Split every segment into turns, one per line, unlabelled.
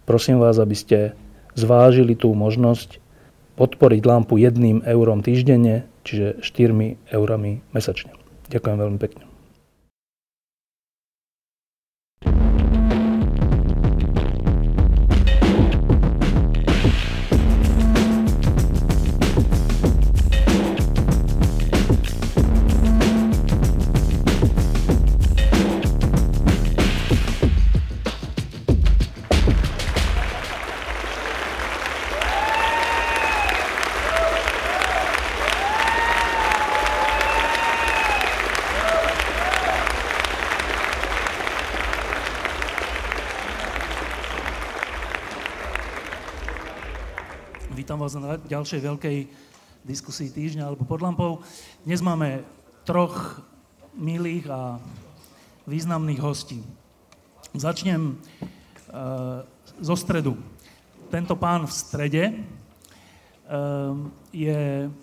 prosím vás, aby ste zvážili tú možnosť podporiť Lampu 1 eurom týždenne, čiže 4 eurami mesačne. Ďakujem veľmi pekne.
Vítam vás na ďalšej veľkej diskusii týždňa alebo pod lampou. Dnes máme 3 milých a významných hostí. Začnem zo stredu. Tento pán v strede je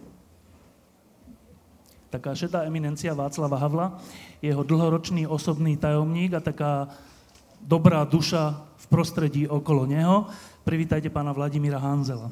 taká šedá eminencia Václava Havla, jeho dlhoročný osobný tajomník a taká dobrá duša v prostredí okolo neho. Privítajte pána Vladimíra Hanzela.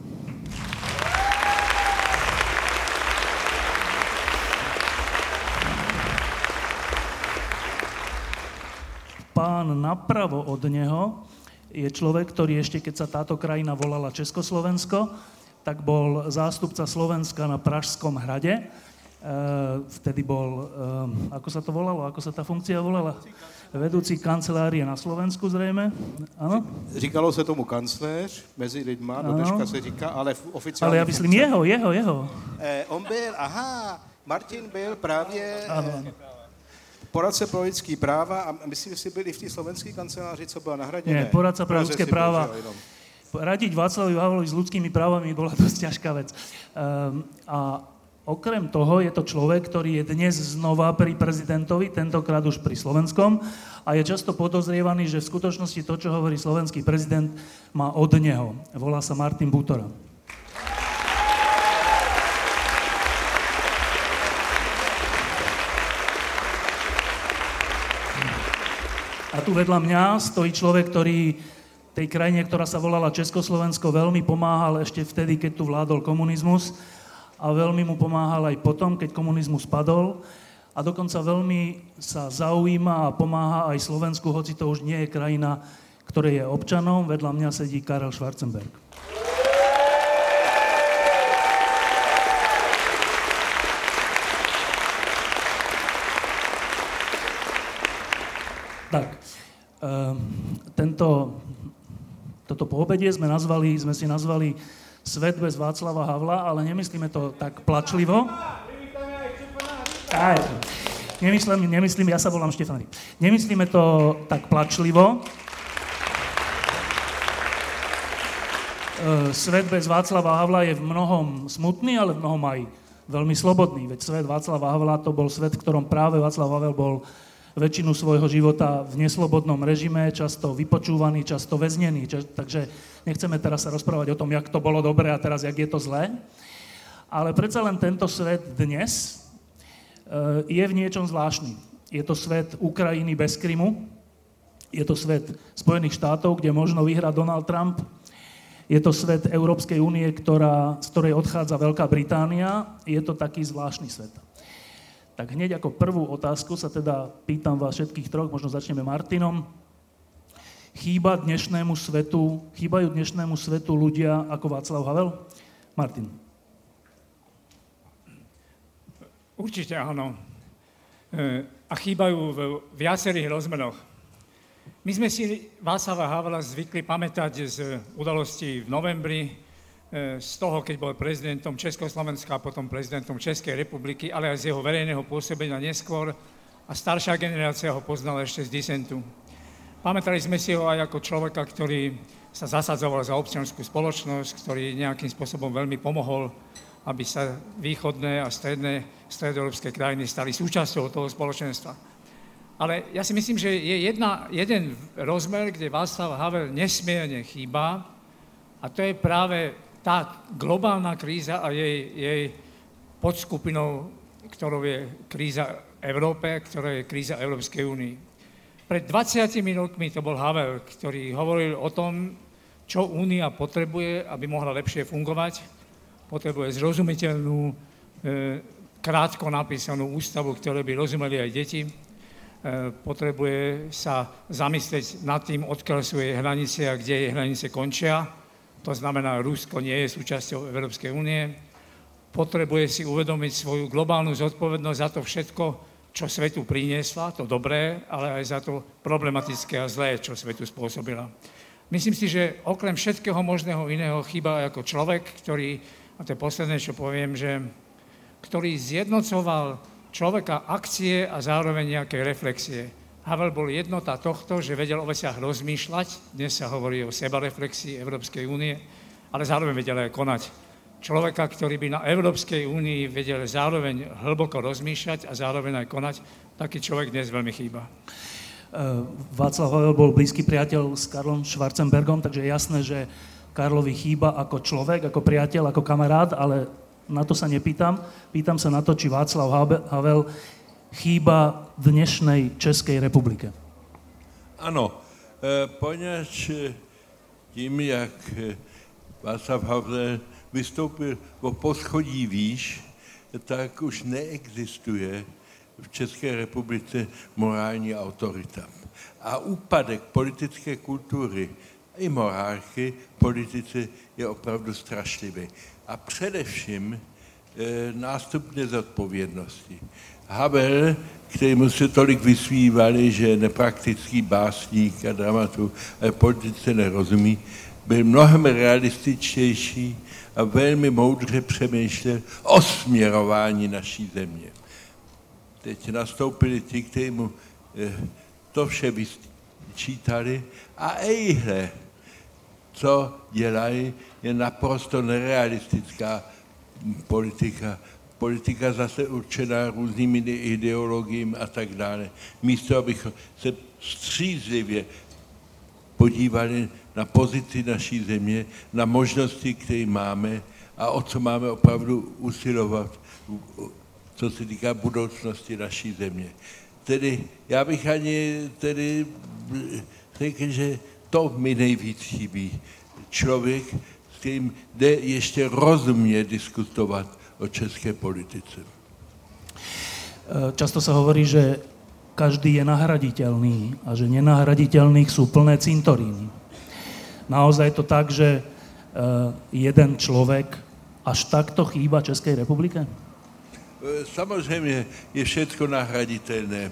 Pán napravo od neho je človek, ktorý ešte keď sa táto krajina volala Československo, tak bol zástupca Slovenska na Pražskom hrade. Vtedy bol, ako sa to volalo, ako sa tá funkcia volala? Vedúci kancelárie na Slovensku zrejme, áno?
Říkalo se tomu kancléř, mezi lidma, do dneška se říká, ale oficiálně...
Ale ja myslím jeho.
On byl, Martin byl právě poradce pro lidský práva a myslím, že si byli v té slovenské kanceláři, co byla na Hradě.
Nie, poradca pro ľudské práva. Radiť Václavovi Havlovi s ľudskými právami bola dosť ťažká vec. A okrem toho je to človek, ktorý je dnes znova pri prezidentovi, tentokrát už pri slovenskom, a je často podozrievaný, že v skutočnosti to, čo hovorí slovenský prezident, má od neho. Volá sa Martin Butora. A tu vedľa mňa stojí človek, ktorý tej krajine, ktorá sa volala Československo, veľmi pomáhal ešte vtedy, keď tu vládol komunizmus, a veľmi mu pomáhal aj potom, keď komunizmus padol, a dokonca veľmi sa zaujíma a pomáha aj Slovensku, hoci to už nie je krajina, ktorej je občanom. Vedľa mňa sedí Karel Schwarzenberg. Tak, toto poobedie sme si nazvali Svet bez Václava Havla, ale nemyslíme to tak plačlivo. Nemyslím, ja sa volám Štefan. Nemyslíme to tak plačlivo. Svet bez Václava Havla je v mnohom smutný, ale v mnohom aj veľmi slobodný. Veď svet Václava Havla to bol svet, v ktorom práve Václav Havel bol väčšinu svojho života v neslobodnom režime, často vypočúvaný, často väznený. Takže nechceme teraz sa rozprávať o tom, jak to bolo dobre a teraz, jak je to zlé. Ale predsa len tento svet dnes je v niečom zvláštny. Je to svet Ukrajiny bez Krymu, je to svet Spojených štátov, kde možno vyhrá Donald Trump, je to svet Európskej únie, z ktorej odchádza Veľká Británia, je to taký zvláštny svet. Tak hneď ako prvú otázku sa teda pýtam vás všetkých 3, možno začneme Martinom. Chýbajú dnešnému svetu ľudia ako Václav Havel? Martin.
Určite áno. A chýbajú v viacerých rozmeroch. My sme si Václava Havla zvykli pamätať z udalostí v novembri, z toho, keď bol prezidentom Československa a potom prezidentom Českej republiky, ale aj z jeho verejného pôsobenia neskôr, a staršia generácia ho poznala ešte z disentu. Pamätali sme si ho aj ako človeka, ktorý sa zasadzoval za občiansku spoločnosť, ktorý nejakým spôsobom veľmi pomohol, aby sa východné a stredoeurópske krajiny stali súčasťou toho spoločenstva. Ale ja si myslím, že je jeden rozmer, kde Václav Havel nesmierne chýba, a to je práve tá globálna kríza a jej podskupinou, ktorou je kríza Európe, ktorá je kríza Európskej únii. Pred 20 rokmi to bol Havel, ktorý hovoril o tom, čo Únia potrebuje, aby mohla lepšie fungovať. Potrebuje zrozumiteľnú, krátko napísanú ústavu, ktoré by rozumeli aj deti. Potrebuje sa zamyslieť nad tým, odkiaľ sú jej hranice a kde jej hranice končia. To znamená, Rusko nie je súčasťou Európskej únie. Potrebuje si uvedomiť svoju globálnu zodpovednosť za to všetko, čo svetu priniesla, to dobré, ale aj za to problematické a zlé, čo svetu spôsobila. Myslím si, že okrem všetkého možného iného chýba ako človek, ktorý, a to je posledné, čo poviem, že ktorý zjednocoval človeka akcie a zároveň nejaké reflexie. Havel bol jednota tohto, že vedel o veciach rozmýšľať, dnes sa hovorí o sebareflexii Európskej únie, ale zároveň vedel aj konať. Človeka, ktorý by na Európskej únii vedel zároveň hlboko rozmýšľať a zároveň aj konať, taký človek dnes veľmi chýba.
Václav Havel bol blízky priateľ s Karlom Schwarzenbergom, takže je jasné, že Karlovi chýba ako človek, ako priateľ, ako kamarát, ale na to sa nepýtam. Pýtam sa na to, či Václav Havel chýba dnešnej Českej republike.
Ano, poněvadž tím, jak Václav Havel vystoupil o poschodí výš, tak už neexistuje v České republice morální autorita. A úpadek politické kultury i morálky politici je opravdu strašlivý. A především nástup nezodpovědnosti. Havel, kterému se tolik vysmívali, že je nepraktický básník a dramaturg, ale politice nerozumí, byl mnohem realističtější a velmi moudře přemýšlel o směrování naší země. Teď nastoupili ti, kteří mu to vše vyčítali a ejhle, co dělají, je naprosto nerealistická politika. Politika zase určená různými ideologiemi a tak dále. Místo, abychom se střízlivě podívali na pozici naší země, na možnosti, které máme a o co máme opravdu usilovat, co se týká budoucnosti naší země. Tedy já bych ani tedy řekl, že to mi nejvíc chybí. Člověk, s kterým jde ještě rozumně diskutovat o české politice.
Často sa hovorí, že každý je nahraditeľný a že nenahraditeľných sú plné cintoríny. Naozaj je to tak, že jeden človek až takto chýba Českej republike?
Samozřejmě je všechno nahraditelné.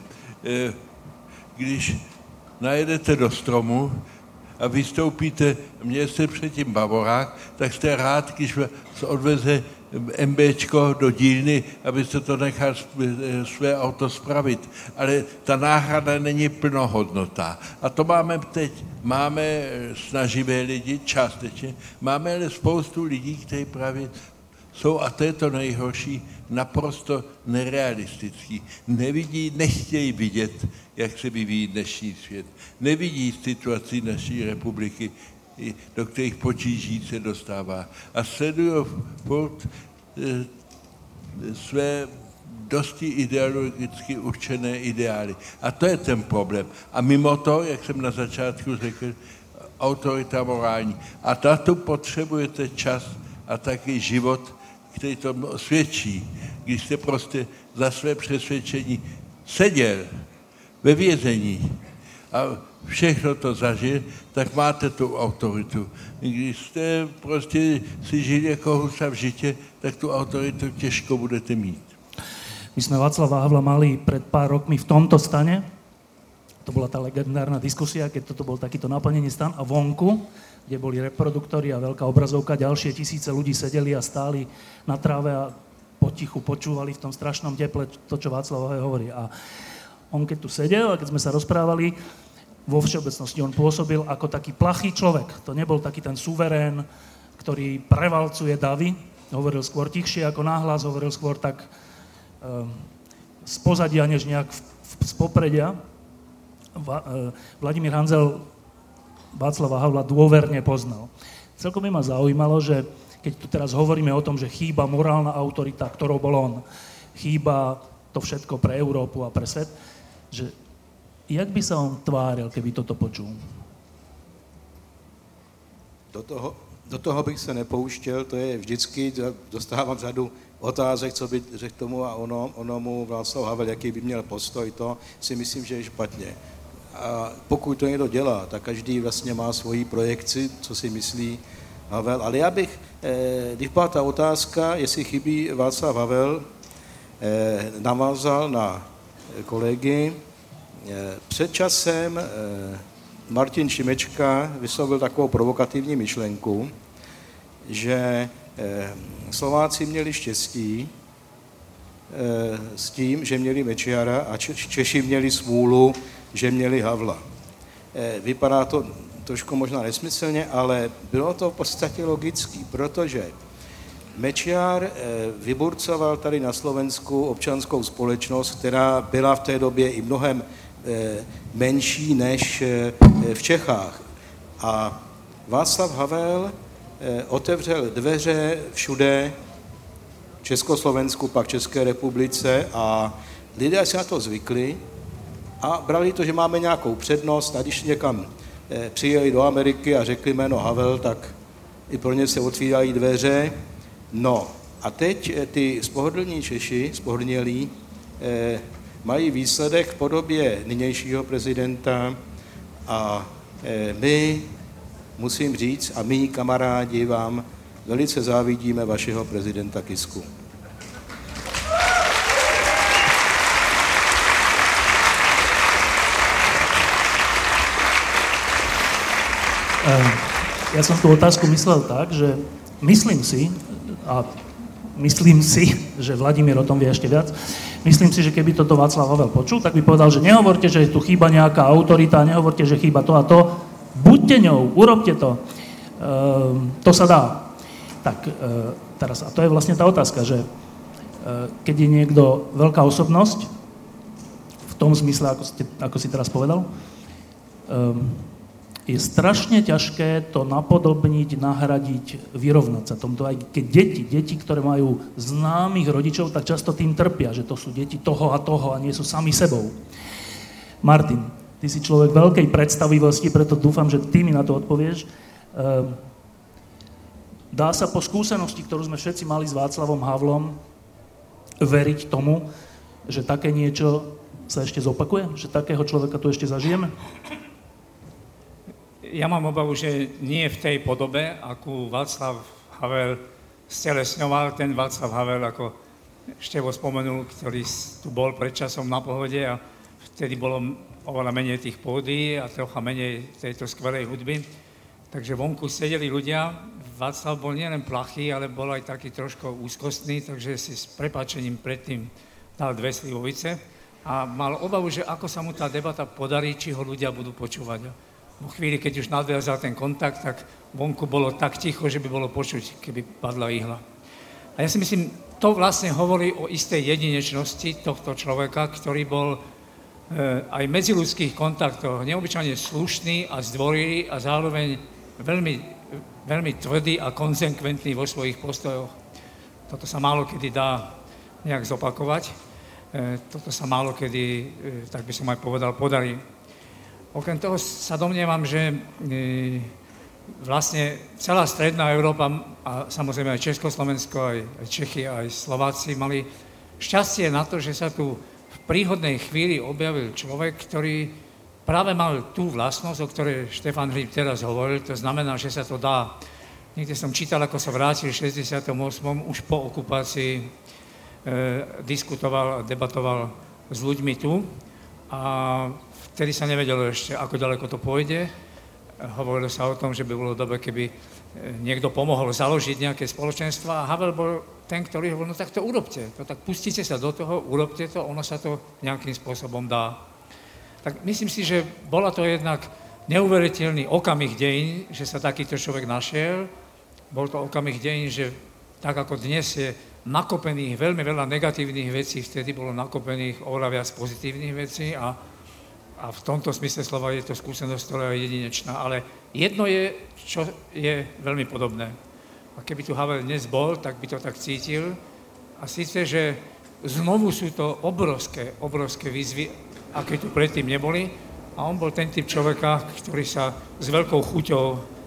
Když najedete do stromu a vystoupíte, měl jste předtím Bavorák, tak jste rád, když se odveze MBčko do dílny, abyste to nechal své auto spravit. Ale ta náhrada není plnohodnotná. A to máme teď. Máme snaživé lidi, částečně. Máme ale spoustu lidí, kteří právě jsou, a to je to nejhorší, naprosto nerealistický. Nevidí, nechtějí vidět, jak se vyvíjí dnešní svět. Nevidí situaci naší republiky, do kterých potíží se dostává. A sledují furt své dosti ideologicky určené ideály. A to je ten problém. A mimo to, jak jsem na začátku řekl, autorita morální. A tato potřebujete čas a taky život, který to svědčí. Když jste prostě za své přesvědčení seděl ve vězení a všechno to zažil, tak máte tu autoritu. Když jste prostě si žili jako husa v žitě, tak tu autoritu těžko budete mít.
My sme Václava Havla mali pred pár rokmi v tomto stane. To bola tá legendárna diskusia, keď toto bol takýto naplnený stan. A vonku, kde boli reproduktory a veľká obrazovka, ďalšie tisíce ľudí sedeli a stáli na tráve a potichu počúvali v tom strašnom teple to, čo Václav Havel hovorí. A on keď tu sedel a keď sme sa rozprávali, vo všeobecnosti on pôsobil ako taký plachý človek. To nebol taký ten suverén, ktorý prevalcuje davy. Hovoril skôr tichšie ako náhlas, hovoril skôr tak z pozadia, než nejak z popredia. Vladimír Hanzel Václava Havla dôverne poznal. Celkom by ma zaujímalo, že keď tu teraz hovoríme o tom, že chýba morálna autorita, ktorou bol on, chýba to všetko pre Európu a pre svet, že jak by sa on tváril, keby toto počul?
Do toho bych se nepouštěl, to je vždycky, dostávám řadu otázek, co by řekl tomu a onomu Václav Havel, jaký by měl postoj, to si myslím, že je špatně. A pokud to někdo dělá, tak každý vlastně má svoji projekci, co si myslí Havel. Ale já bych, když byla ta otázka, jestli chybí Václav Havel, navázal na kolegy. Před časem Martin Šimečka vyslovil takovou provokativní myšlenku, že Slováci měli štěstí s tím, že měli Mečiara a Češi měli smůlu, že měli Havla. Vypadá to trošku možná nesmyslně, ale bylo to v podstatě logický, protože Mečiar vyburcoval tady na Slovensku občanskou společnost, která byla v té době i mnohem menší než v Čechách. A Václav Havel otevřel dveře všude v Československu, pak České republice a lidé si na to zvykli a brali to, že máme nějakou přednost a když někam přijeli do Ameriky a řekli jméno Havel, tak i pro ně se otvírají dveře. No a teď ty spohodlní Češi, spohodlnělí, mají výsledek v podobě nynějšího prezidenta a my, musím říct, a my kamarádi vám velice závidíme vašeho prezidenta Kisku.
Ja som tú otázku myslel tak, že myslím si, že Vladimír o tom vie ešte viac, myslím si, že keby toto Václav Havel počul, tak by povedal, že nehovorte, že tu chýba nejaká autorita, nehovorte, že chýba to a to, buďte ňou, urobte to. To sa dá. Tak teraz, a to je vlastne tá otázka, že keď je niekto veľká osobnosť, v tom zmysle, ako si teraz povedal, je strašne ťažké to napodobniť, nahradiť, vyrovnať sa tomto. Aj keď deti, ktoré majú známych rodičov, tak často tým trpia, že to sú deti toho a nie sú sami sebou. Martin, ty si človek veľkej predstavivosti, preto dúfam, že ty mi na to odpovieš. Dá sa po skúsenosti, ktorú sme všetci mali s Václavom Havlom, veriť tomu, že také niečo sa ešte zopakuje? Že takého človeka tu ešte zažijeme?
Ja mám obavu, že nie v tej podobe, akú Václav Havel stelesňoval, ten Václav Havel, ako Števo spomenul, ktorý tu bol pred časom na Pohode a vtedy bolo oveľa menej tých pódií a trocha menej tejto skvelej hudby. Takže vonku sedeli ľudia, Václav bol nielen plachý, ale bol aj taký trošku úzkostný, takže si s prepáčením predtým dal 2 slivovice a mal obavu, že ako sa mu tá debata podarí, či ho ľudia budú počúvať. V chvíli, keď už nadviazal ten kontakt, tak vonku bolo tak ticho, že by bolo počuť, keby padla ihla. A ja si myslím, to vlastne hovorí o istej jedinečnosti tohto človeka, ktorý bol aj v medziľudských kontaktoch neobyčajne slušný a zdvorilý a zároveň veľmi, veľmi tvrdý a konzekventný vo svojich postojoch. Toto sa málo kedy dá nejak zopakovať. Toto sa málo kedy, tak by som aj povedal, podarí. Okrem toho sa domnievam, že vlastne celá stredná Európa a samozrejme aj Československo, aj Čechy, aj Slováci mali šťastie na to, že sa tu v príhodnej chvíli objavil človek, ktorý práve mal tú vlastnosť, o ktorej Štefan Hríb teraz hovoril, to znamená, že sa to dá. Niekde som čítal, ako sa vrátil v 68. už po okupácii, diskutoval a debatoval s ľuďmi tu a vtedy sa nevedelo ešte, ako ďaleko to pôjde. Hovorilo sa o tom, že by bolo dobre, keby niekto pomohol založiť nejaké spoločenstva a Havel bol ten, ktorý hovoril, no tak to urobte, to tak pustite sa do toho, urobte to, ono sa to nejakým spôsobom dá. Tak myslím si, že bola to jednak neuveriteľný okamih dejín, že sa takýto človek našiel. Bol to okamih dejín, že tak ako dnes je nakopených veľmi veľa negatívnych vecí, vtedy bolo nakopených oveľa viac pozitívnych vecí a v tomto smysle slova je to skúsenosť, ktorá je jedinečná. Ale jedno je, čo je veľmi podobné. A keby tu Havel dnes bol, tak by to tak cítil. A síce, že znovu sú to obrovské výzvy, aké tu predtým neboli. A on bol ten typ človeka, ktorý sa s veľkou chuťou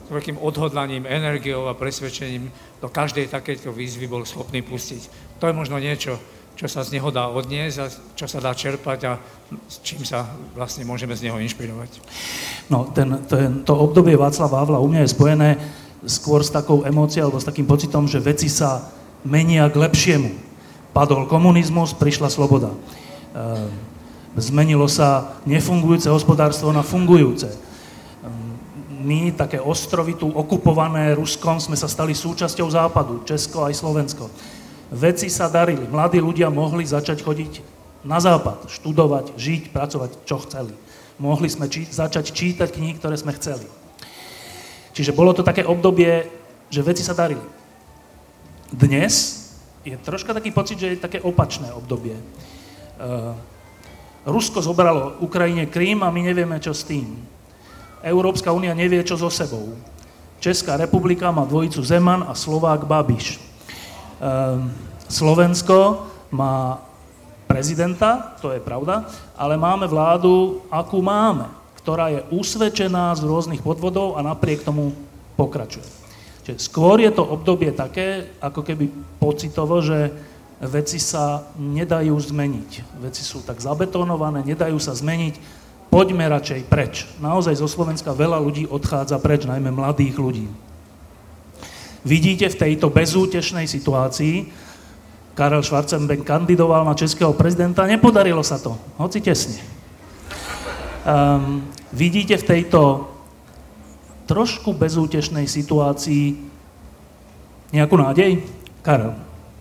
veľkým odhodlaním, energiou a presvedčením do každej takejto výzvy bol schopný pustiť. To je možno niečo, čo sa z neho dá odniesť a čo sa dá čerpať a s čím sa vlastne môžeme z neho inšpirovať.
No, to obdobie Václava Havla u mňa je spojené skôr s takou emóciou alebo s takým pocitom, že veci sa menia k lepšiemu. Padol komunizmus, prišla sloboda. Zmenilo sa nefungujúce hospodárstvo na fungujúce. My, také ostrovy tu okupované Ruskom, sme sa stali súčasťou Západu, Česko aj Slovensko. Veci sa darili. Mladí ľudia mohli začať chodiť na Západ, študovať, žiť, pracovať, čo chceli. Mohli sme začať čítať knihy, ktoré sme chceli. Čiže bolo to také obdobie, že veci sa darili. Dnes je troška taký pocit, že je také opačné obdobie. Rusko zobralo Ukrajine Krím a my nevieme, čo s tým. Európska únia nevie, čo so sebou. Česká republika má dvojicu Zeman a Slovák Babiš. Slovensko má prezidenta, to je pravda, ale máme vládu, akú máme, ktorá je usvedčená z rôznych podvodov a napriek tomu pokračuje. Čiže skôr je to obdobie také, ako keby pocitovo, že veci sa nedajú zmeniť. Veci sú tak zabetonované, nedajú sa zmeniť. Poďme radšej preč. Naozaj zo Slovenska veľa ľudí odchádza preč, najmä mladých ľudí. Vidíte v tejto bezútešnej situácii, Karel Schwarzenberg kandidoval na českého prezidenta, nepodarilo sa to, hoci tesne. Vidíte v tejto trošku bezútešnej situácii nejakú nádej? Karel.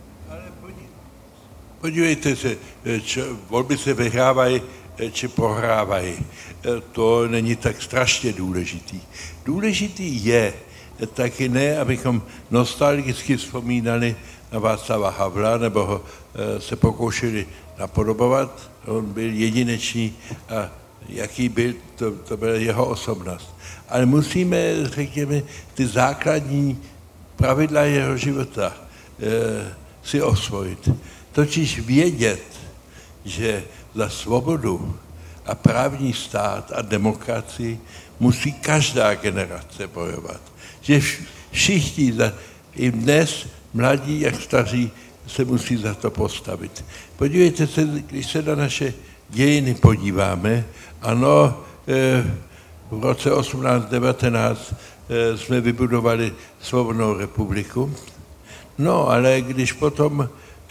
Podívejte se, volby se vyhrávají či prohrávají. To není tak strašně důležitý. Důležitý je taky ne, abychom nostalgicky vzpomínali na Václava Havla, nebo ho se pokoušeli napodobovat. On byl jedinečný a jaký byl, to byla jeho osobnost. Ale musíme, řekněme, ty základní pravidla jeho života si osvojit. Totiž vědět, že za svobodu a právní stát a demokracii musí každá generace bojovat. Že všichni, i dnes, mladí jak staří, se musí za to postavit. Podívejte se, když se na naše dějiny podíváme, ano, v roce 1819 jsme vybudovali Svobodnou republiku, no ale když potom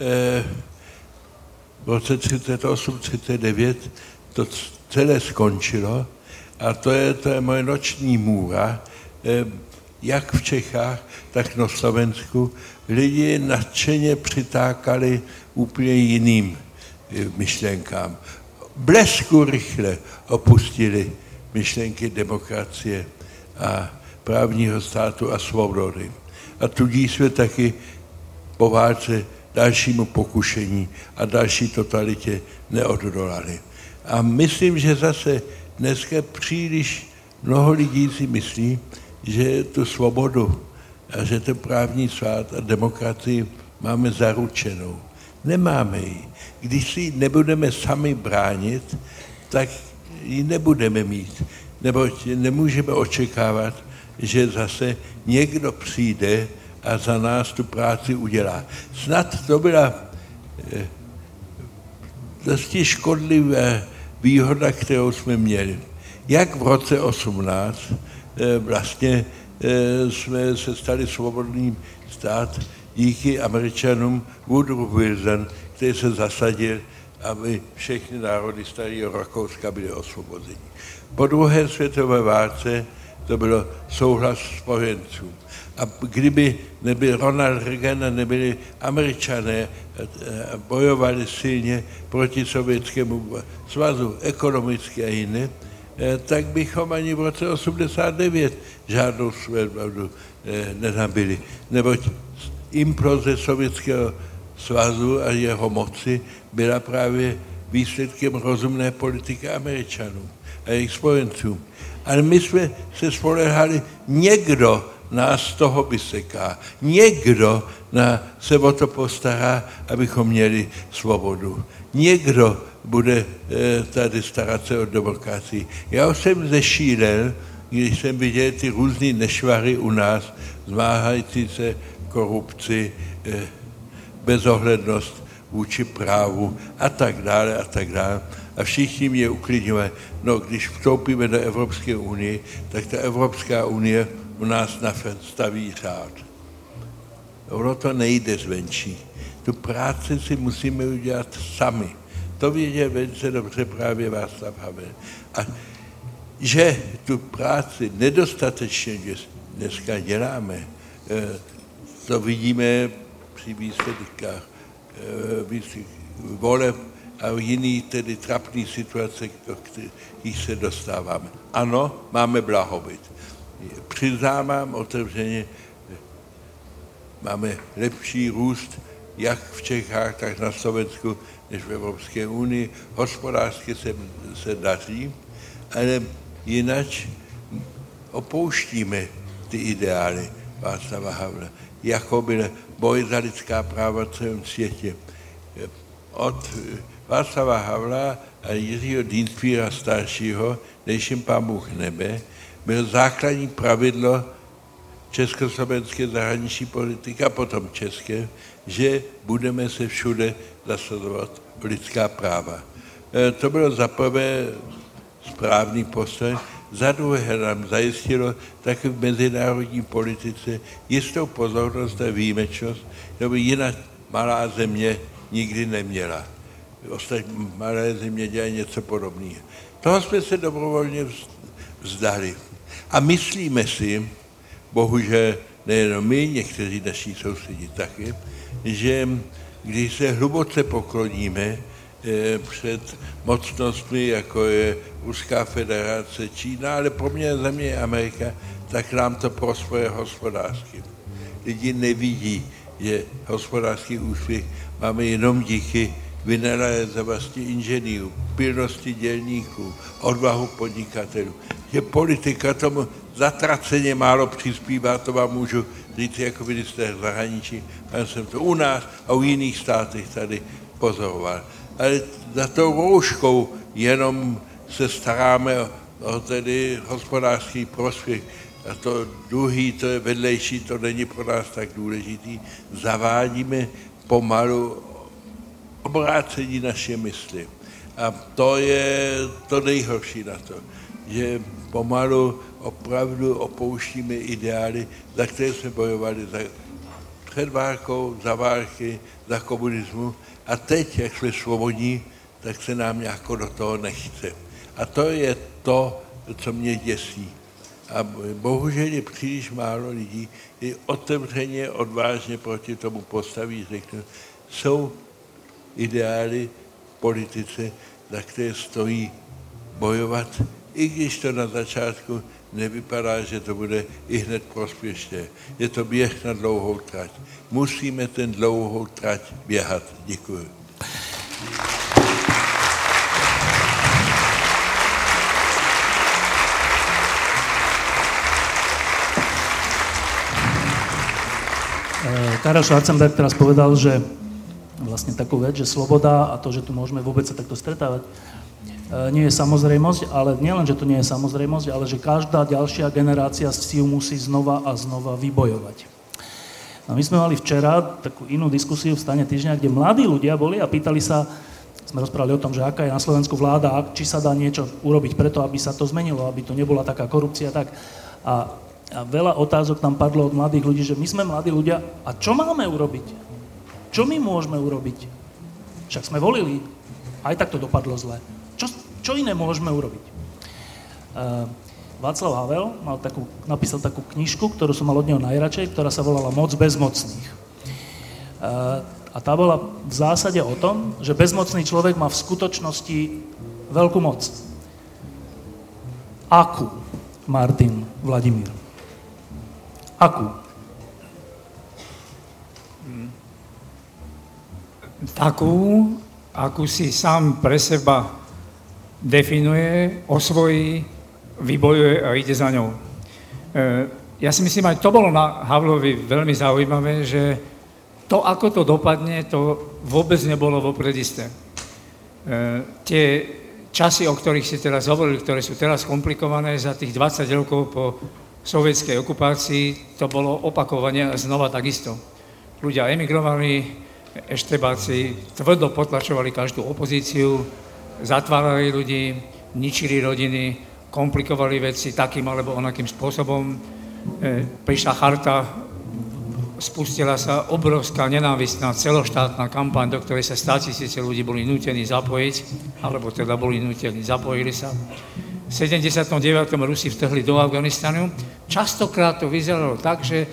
v roce 38-39 to celé skončilo a to je moje noční můra, jak v Čechách, tak na Slovensku lidi nadšeně přitákali úplně jiným myšlenkám. Blesku rychle opustili myšlenky demokracie a právního státu a svobody. A tudíž jsme taky po válce dalšímu pokušení a další totalitě neodolali. A myslím, že zase dneska příliš mnoho lidí si myslí, že tu svobodu a že ten právní stát a demokracii máme zaručenou. Nemáme ji. Když si ji nebudeme sami bránit, tak ji nebudeme mít. Neboť nemůžeme očekávat, že zase někdo přijde a za nás tu práci udělá. Snad to byla dosti škodlivá výhoda, kterou jsme měli. Jak v roce 18 vlastně jsme se stali svobodným stát díky Američanům Woodrow Wilson, který se zasadil, aby všechny národy starého Rakouska byly osvobozeni. Po druhé světové válce to bylo souhlas spojenců. A kdyby nebyl Ronald Reagan a nebyli Američané a bojovali silně proti Sovětskému svazu ekonomicky a jiné, tak bychom ani v roce 89 žádnou svobodu nenabili. Neboť imploze Sovětského svazu a jeho moci byla právě výsledkem rozumné politiky Američanů a jejich spojenců. Ale my jsme se spolehali, někdo nás toho vyseká, někdo se o to postará, abychom měli svobodu. Někdo bude tady starat se o demokracii. Já už jsem zešílel, když jsem viděl ty různé nešvary u nás, zmáhající se korupci, bezohlednost vůči právu a tak dále a tak dále. A všichni mě uklidňovali, no když vstoupíme do Evropské unie, tak ta Evropská unie u nás nastaví řád. Ono to nejde zvenčí. Tu práci si musíme udělat sami. To věděl velice dobře právě Václav Havel. A že tu práci nedostatečně dneska děláme, to vidíme při výsledkách voleb a jiný tedy trapný situace, do kterých se dostáváme. Ano, máme blahobyt. Přiznávám otevřeně, máme lepší růst jak v Čechách, tak na Slovensku, než v Evropské unii. Hospodářsky se daří, ale jinak opouštíme ty ideály Václava Havla. Jako byl boj za lidská práva v celém světě. Od Václava Havla a Jiřího Dienstbiera staršího, než jim Pán Bůh nebe, byl základní pravidlo československé zahraniční politiky a potom české, že budeme se všude zasazovat o lidská práva. To bylo za prvé správný postoj, za druhé nám zajistilo taky v mezinárodní politice jistou pozornost a výjimečnost, nebo jiná malá země nikdy neměla. Ostatní malé země dělají něco podobného. Toho jsme se dobrovolně vzdali. A myslíme si, bohužel nejenom my, někteří naši sousedi taky, že když se hluboce pokloníme před mocnostmi, jako je Ruská federace, Čína, ale poměrně země Amerika, tak nám to prosperuje hospodářsky. Lidi nevidí, že hospodářský úspěch máme jenom díky vynalézavosti inženýrů, pilnosti dělníků, odvahu podnikatelů. Že politika tomu zatraceně málo přispívá, to vám můžu říct jako minister zahraničí, já jsem to u nás a u jiných státech tady pozoroval. Ale za tou rouškou jenom se staráme o tedy hospodářský prospěch a to druhý, to je vedlejší, to není pro nás tak důležitý. Zavádíme pomalu obrácení naše mysli. A to je to nejhorší na to, že pomalu opravdu opouštíme ideály, za které jsme bojovali před válkou, za války, za komunismu. A teď, jak jsme svobodní, tak se nám nějako do toho nechce. A to je to, co mě děsí. A bohužel je příliš málo lidí, kteří otevřeně, odvážně proti tomu postaví, řeknou, jsou ideály v politice, za které stojí bojovat, i když to na začátku nevypadá, že to bude i hned prospěšné. Je to běh na dlouhou trať. Musíme ten dlouhou trať běhat. Děkuji.
Karel Schwarzenberg teraz povedal, že vlastne takú vec, že sloboda a to, že tu môžeme vôbec sa takto stretávať, nie je samozrejmosť, ale nielen, že to nie je samozrejmosť, ale že každá ďalšia generácia si ju musí znova a znova vybojovať. A my sme mali včera takú inú diskusiu v Stane týždňa, kde mladí ľudia boli a pýtali sa, sme rozprávali o tom, že aká je na Slovensku vláda a či sa dá niečo urobiť preto, aby sa to zmenilo, aby to nebola taká korupcia, tak. A veľa otázok tam padlo od mladých ľudí, že my sme mladí ľudia a čo máme urobiť? Čo my môžeme urobiť? Však sme volili, aj tak to dopadlo zle. Čo iné môžeme urobiť? Václav Havel napísal takú knižku, ktorú som mal od neho najradšej, ktorá sa volala Moc bezmocných. A tá bola v zásade o tom, že bezmocný človek má v skutočnosti veľkú moc. Akú, Martin Vladimír? Akú?
Takú, akú si sám pre seba definuje, osvojí, vybojuje a ide za ňou. Ja si myslím, aj to bolo na Havlovi veľmi zaujímavé, že to, ako to dopadne, to vôbec nebolo vopred isté. časy, o ktorých si teraz hovorili, ktoré sú teraz komplikované, za tých 20 rokov po sovietskej okupácii, to bolo opakovanie znova takisto. Ľudia emigrovali, eštebáci tvrdo potlačovali každú opozíciu, zatvárali ľudí, ničili rodiny, komplikovali veci takým alebo onakým spôsobom. Prišla charta, spustila sa obrovská nenávistná celoštátna kampaň, do ktorej sa 100 000 ľudí boli nútení zapojiť, alebo teda boli nútení, zapojili sa. V 79. Rusi vtrhli do Afganistanu. Častokrát to vyzeralo tak, že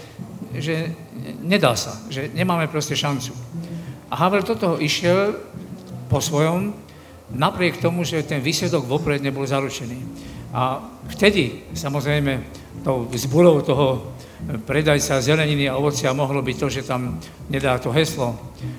nedá sa, že nemáme proste šancu. A Havel do toho išiel po svojom, napriek tomu, že ten výsledok vopred nebol zaručený. A vtedy, samozrejme, tou zbúrou toho predajca zeleniny a ovocia mohlo byť to, že tam nedá to heslo.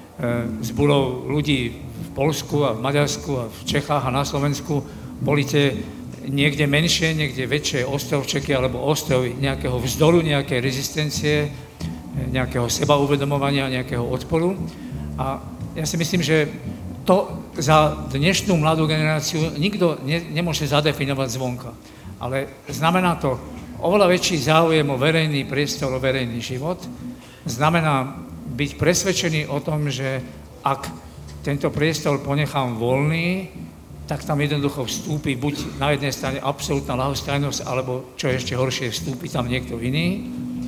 Zbúrou ľudí v Poľsku a v Maďarsku a v Čechách a na Slovensku volíte niekde menšie, niekde väčšie ostrovčeky alebo ostrovy nejakého vzdoru, nejakej rezistencie, nejakého sebauvedomovania, nejakého odporu. A ja si myslím, že to za dnešnú mladú generáciu nikto nemôže zadefinovať zvonka. Ale znamená to oveľa väčší záujem o verejný priestor, o verejný život. Znamená byť presvedčený o tom, že ak tento priestor ponechám voľný, tak tam jednoducho vstúpi buď na jednej strane absolútna ľahostajnosť, alebo čo je ešte horšie, vstúpi tam niekto iný.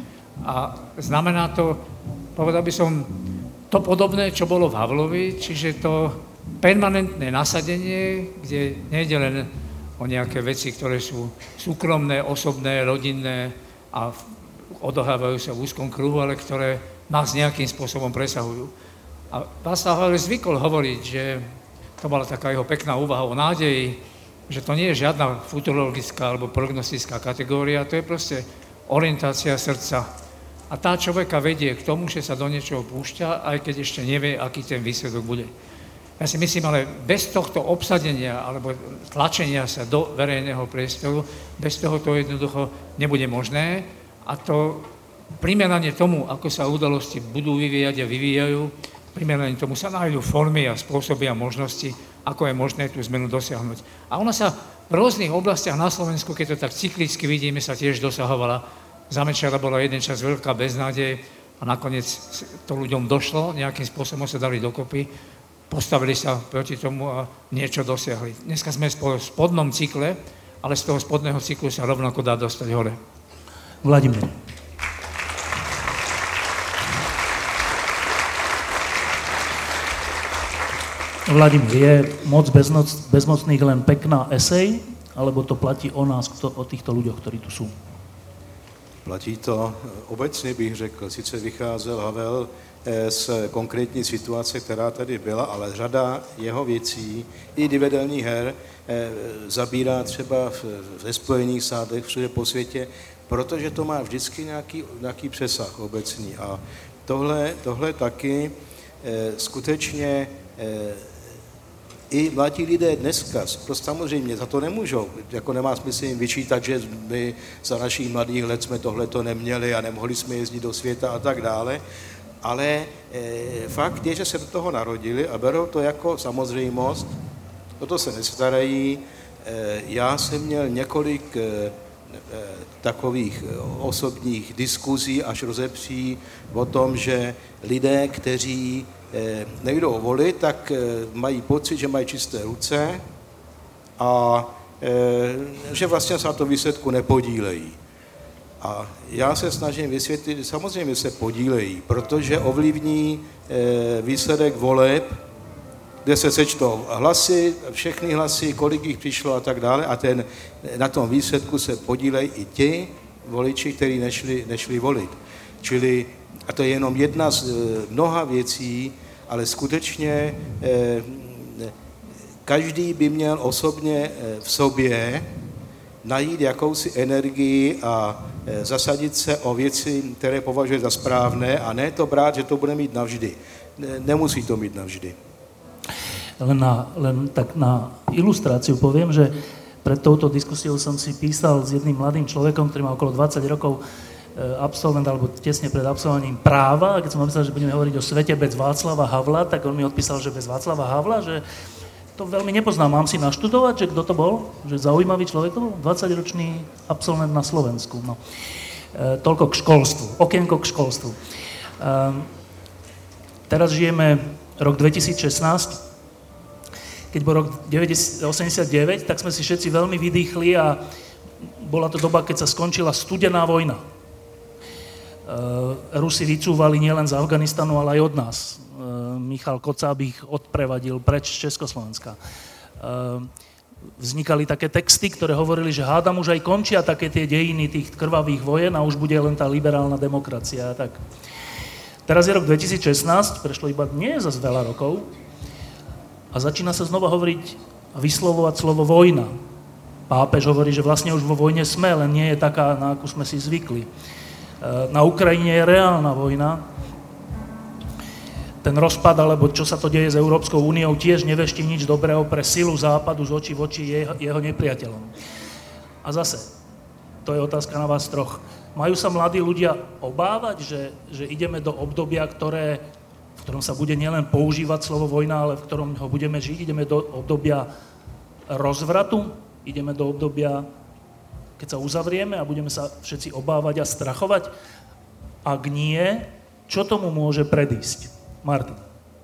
A znamená to, povedal by som, to podobné, čo bolo v Havlovi, čiže to permanentné nasadenie, kde nejde len o nejaké veci, ktoré sú súkromné, osobné, rodinné a odohrávajú sa v úzkom kruhu, ale ktoré nás nejakým spôsobom presahujú. A Václav Havel zvykol hovoriť, že to bola taká jeho pekná úvaha o nádeji, že to nie je žiadna futurologická alebo prognostická kategória, to je proste orientácia srdca. A tá človeka vedie k tomu, že sa do niečoho púšťa, aj keď ešte nevie, aký ten výsledok bude. Ja si myslím, ale bez tohto obsadenia alebo tlačenia sa do verejného priestoru, bez toho to jednoducho nebude možné. A to primerane tomu, ako sa udalosti budú vyvíjať a vyvíjajú, primerane tomu sa nájdú formy a spôsoby a možnosti, ako je možné tú zmenu dosiahnuť. A ona sa v rôznych oblastiach na Slovensku, keď to tak cyklicky vidíme, sa tiež dosahovala. Za Mečiara bola jeden čas veľká beznádej a nakoniec to ľuďom došlo, nejakým spôsobom sa dali dokopy, postavili sa proti tomu a niečo dosiahli. Dneska sme v spodnom cykle, ale z toho spodného cyklu sa rovnako dá dostať hore.
Vladimír. Vladimír, je moc bezmocných len pekná esej, alebo to platí o nás, o týchto ľuďoch, ktorí tu sú?
Platí to obecně, bych řekl. Sice vycházel Havel z konkrétní situace, která tady byla, ale řada jeho věcí, i divadelních her, zabírá třeba ve Spojených státech, všude po světě, protože to má vždycky nějaký přesah obecný. A tohle taky skutečně i mladí lidé dneska, to samozřejmě za to nemůžou, jako nemá smysl jim vyčítat, že my za našich mladých let jsme tohleto neměli a nemohli jsme jezdit do světa a tak dále, ale fakt je, že se do toho narodili a berou to jako samozřejmost, o to se nestarají. Já jsem měl několik takových osobních diskuzí až rozepří o tom, že lidé, kteří nejdou volit, tak mají pocit, že mají čisté ruce a že vlastně se na to výsledku nepodílejí. A já se snažím vysvětlit, že samozřejmě se podílejí, protože ovlivní výsledek voleb, kde se sečtou hlasy, všechny hlasy, kolik jich přišlo a tak dále a na tom výsledku se podílejí i ti voliči, kteří nešli volit. Čili, a to je jenom jedna z mnoha věcí, ale skutečně každý by měl osobně v sobě najít jakousi energii a zasadit se o věci, které považuje za správné a ne to brát, že to bude mít navždy. Nemusí to mít navždy.
Len tak na ilustráciu poviem, že pred touto diskusiou som si písal s jedným mladým človekom, ktorý má okolo 20 rokov, absolvent, alebo tesne pred absolvovaním práva, a keď som napísal, že budeme hovoriť o svete bez Václava Havla, tak on mi odpísal, že bez Václava Havla, že to veľmi nepoznám. Mám si naštudovať, že kto to bol? Že zaujímavý človek to bol? 20-ročný absolvent na Slovensku. No. Toľko k školstvu. Okienko k školstvu. Teraz žijeme rok 2016. Keď bol rok 1989, tak sme si všetci veľmi vydýchli a bola to doba, keď sa skončila studená vojna. Rusi vycúvali nielen z Afganistanu, ale aj od nás. Michal Kocáb ich odprevadil preč z Československa. Vznikali také texty, ktoré hovorili, že hádam už aj končia také tie dejiny tých krvavých vojen a už bude len tá liberálna demokracia. Tak. Teraz je rok 2016, prešlo iba nie je zas veľa rokov a začína sa znova hovoriť a vyslovovať slovo vojna. Pápež hovorí, že vlastne už vo vojne sme, len nie je taká, na akú sme si zvykli. Na Ukrajine je reálna vojna. Ten rozpad, alebo čo sa to deje s Európskou úniou, tiež neveští nič dobrého pre silu západu z očí v oči jeho nepriateľom. A zase, to je otázka na vás troch. Majú sa mladí ľudia obávať, že ideme do obdobia, v ktorom sa bude nielen používať slovo vojna, ale v ktorom ho budeme žiť? Ideme do obdobia rozvratu? Ideme do obdobia, keď sa uzavrieme a budeme sa všetci obávať a strachovať? Ak nie, čo tomu môže predísť? Martin.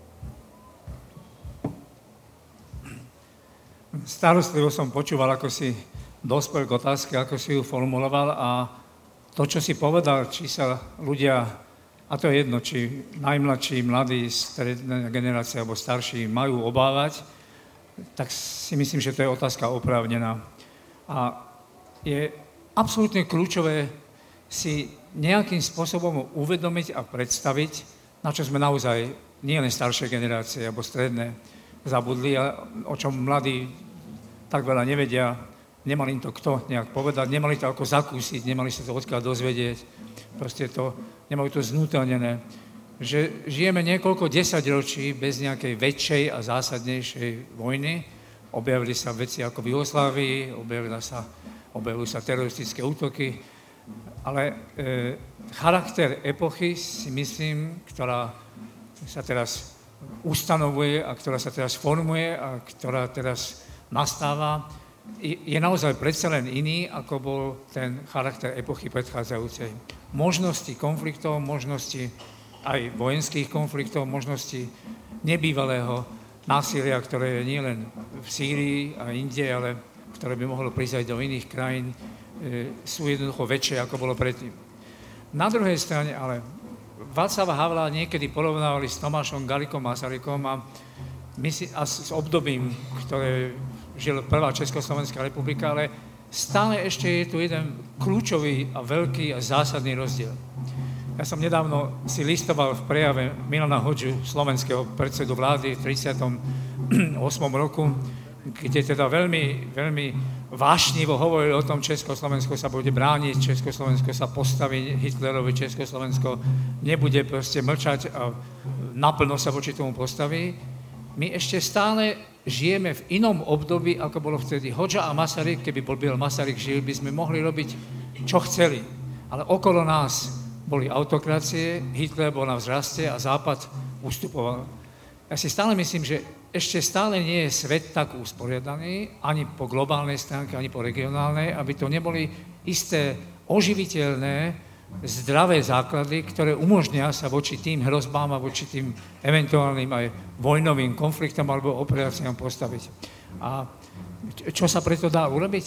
Starostlivo som počúval, ako si dospel k otázke, ako si ju formuloval a to, čo si povedal, či sa ľudia, a to je jedno, či najmladší, mladí, stredná generácia alebo starší majú obávať, tak si myslím, že to je otázka oprávnená. A je absolútne kľúčové si nejakým spôsobom uvedomiť a predstaviť, na čo sme naozaj nielen staršie generácie alebo stredné zabudli, a o čom mladí tak veľa nevedia, nemali im to kto nejak povedať, nemali to ako zakúsiť, nemali sa to odkiaľ dozvedieť, proste to, nemali to znútelnené, že žijeme niekoľko desaťročí bez nejakej väčšej a zásadnejšej vojny, objavili sa veci ako v Jugoslávii, objavujú sa teroristické útoky, ale charakter epochy si myslím, ktorá sa teraz ustanovuje a ktorá sa teraz formuje a ktorá teraz nastáva, je naozaj predsa len iný, ako bol ten charakter epochy predchádzajúcej. Možnosti konfliktov, možnosti aj vojenských konfliktov, možnosti nebývalého násilia, ktoré je nielen v Sýrii a inde, ale ktoré by mohlo prísť aj do iných krajín, sú jednoducho väčšie, ako bolo predtým. Na druhej strane ale Václava Havla niekedy porovnávali s Tomášom Garriguom Masarykom a s obdobím, ktoré žil prvá Československá republika, ale stále ešte je tu jeden kľúčový a veľký a zásadný rozdiel. Ja som nedávno si listoval v prejave Milana Hodžu, slovenského predsedu vlády v 38. roku, kde teda veľmi, veľmi vášnivo hovoril o tom, Československo sa bude brániť, Československo sa postaví Hitlerovi, Československo nebude proste mlčať a naplno sa voči tomu postaví. My ešte stále žijeme v inom období, ako bolo vtedy. Hodža a Masaryk, keby byl Masaryk žil, by sme mohli robiť, čo chceli. Ale okolo nás boli autokracie, Hitler bol na vzraste a Západ ustupoval. Ja si stále myslím, že ešte stále nie je svet tak usporiadaný, ani po globálnej stránke, ani po regionálnej, aby to neboli isté oživiteľné, zdravé základy, ktoré umožnia sa voči tým hrozbám a voči tým eventuálnym aj vojnovým konfliktom alebo operáciám postaviť. A čo sa preto dá urobiť?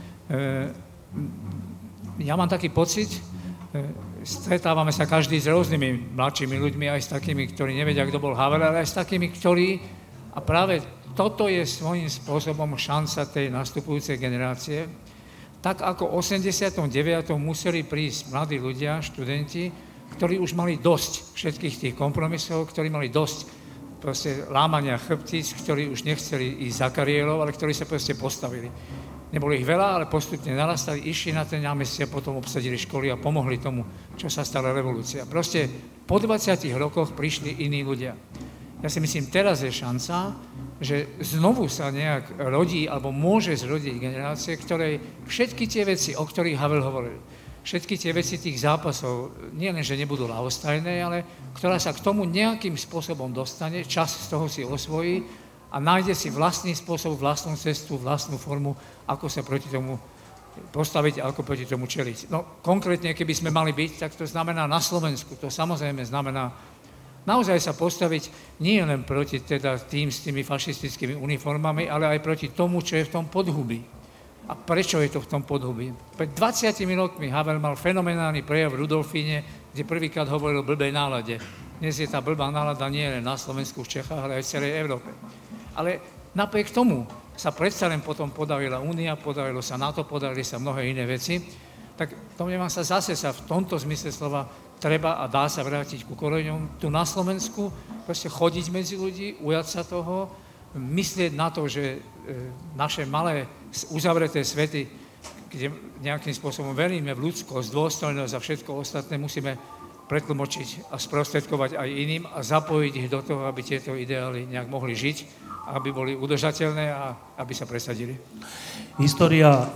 Ja mám taký pocit, stretávame sa každý s rôznymi mladšími ľuďmi, aj s takými, ktorí nevedia, kto bol Havel, ale aj s takými, ktorí, a práve toto je svojím spôsobom šanca tej nastupujúcej generácie. Tak ako v 89. museli prísť mladí ľudia, študenti, ktorí už mali dosť všetkých tých kompromisov, ktorí mali dosť proste lámania chrbtíc, ktorí už nechceli ísť za kariérou, ale ktorí sa proste postavili. Nebolo ich veľa, ale postupne narastali, išli na ten námestie, potom obsadili školy a pomohli tomu, čo sa stala revolúcia. Proste po 20 rokoch prišli iní ľudia. Ja si myslím, teraz je šanca, že znovu sa nejak rodí, alebo môže zrodiť generácie, ktorej všetky tie veci, o ktorých Havel hovoril, všetky tie veci tých zápasov, nie len, že nebudú ľahostajné, ale ktorá sa k tomu nejakým spôsobom dostane, čas z toho si osvojí a nájde si vlastný spôsob, vlastnú cestu, vlastnú formu, ako sa proti tomu postaviť a ako proti tomu čeliť. No konkrétne, keby sme mali byť, tak to znamená na Slovensku. To samozrejme znamená naozaj sa postaviť nie len proti teda tým s tými fašistickými uniformami, ale aj proti tomu, čo je v tom podhubí. A prečo je to v tom podhubí? Pred 20 rokmi Havel mal fenomenálny prejav v Rudolfíne, kde prvýkrát hovoril o blbej nálade. Dnes je tá blbá nálada nie len na Slovensku, v Čechách, ale aj v celej Európe. Ale napriek tomu sa predsa len potom podarila Únia, podarilo sa NATO, podarili sa mnohé iné veci, tak domnievam sa zase sa v tomto zmysle slova treba a dá sa vrátiť ku koreňom tu na Slovensku, proste chodiť medzi ľudí, ujať sa toho, myslieť na to, že naše malé uzavreté svety, kde nejakým spôsobom veríme v ľudskosť, dôstojnosť a všetko ostatné musíme pretlmočiť a sprostredkovať aj iným a zapojiť ich do toho, aby tieto ideály nejak mohli žiť, aby boli udržateľné a aby sa presadili.
História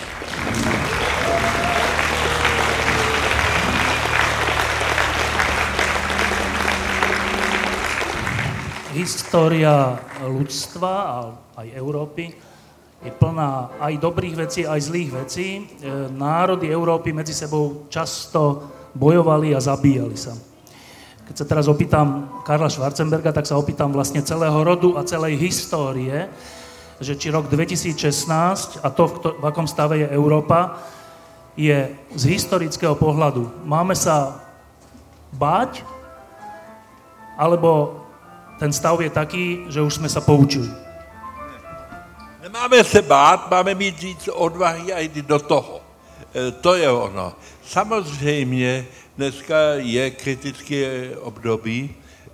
ľudstva a aj Európy je plná aj dobrých vecí, aj zlých vecí. Národy Európy medzi sebou často bojovali a zabíjali sa. Keď sa teraz opýtam Karla Schwarzenberga, tak sa opýtam vlastne celého rodu a celej histórie, že či rok 2016 a to, v akom stave je Európa, je z historického pohľadu. Máme sa báť, alebo ten stav je taký, že už sme sa poučili?
Nemáme se bát, máme mít víc odvahy a jít do toho. To je ono. Samozřejmě dneska je kritické období,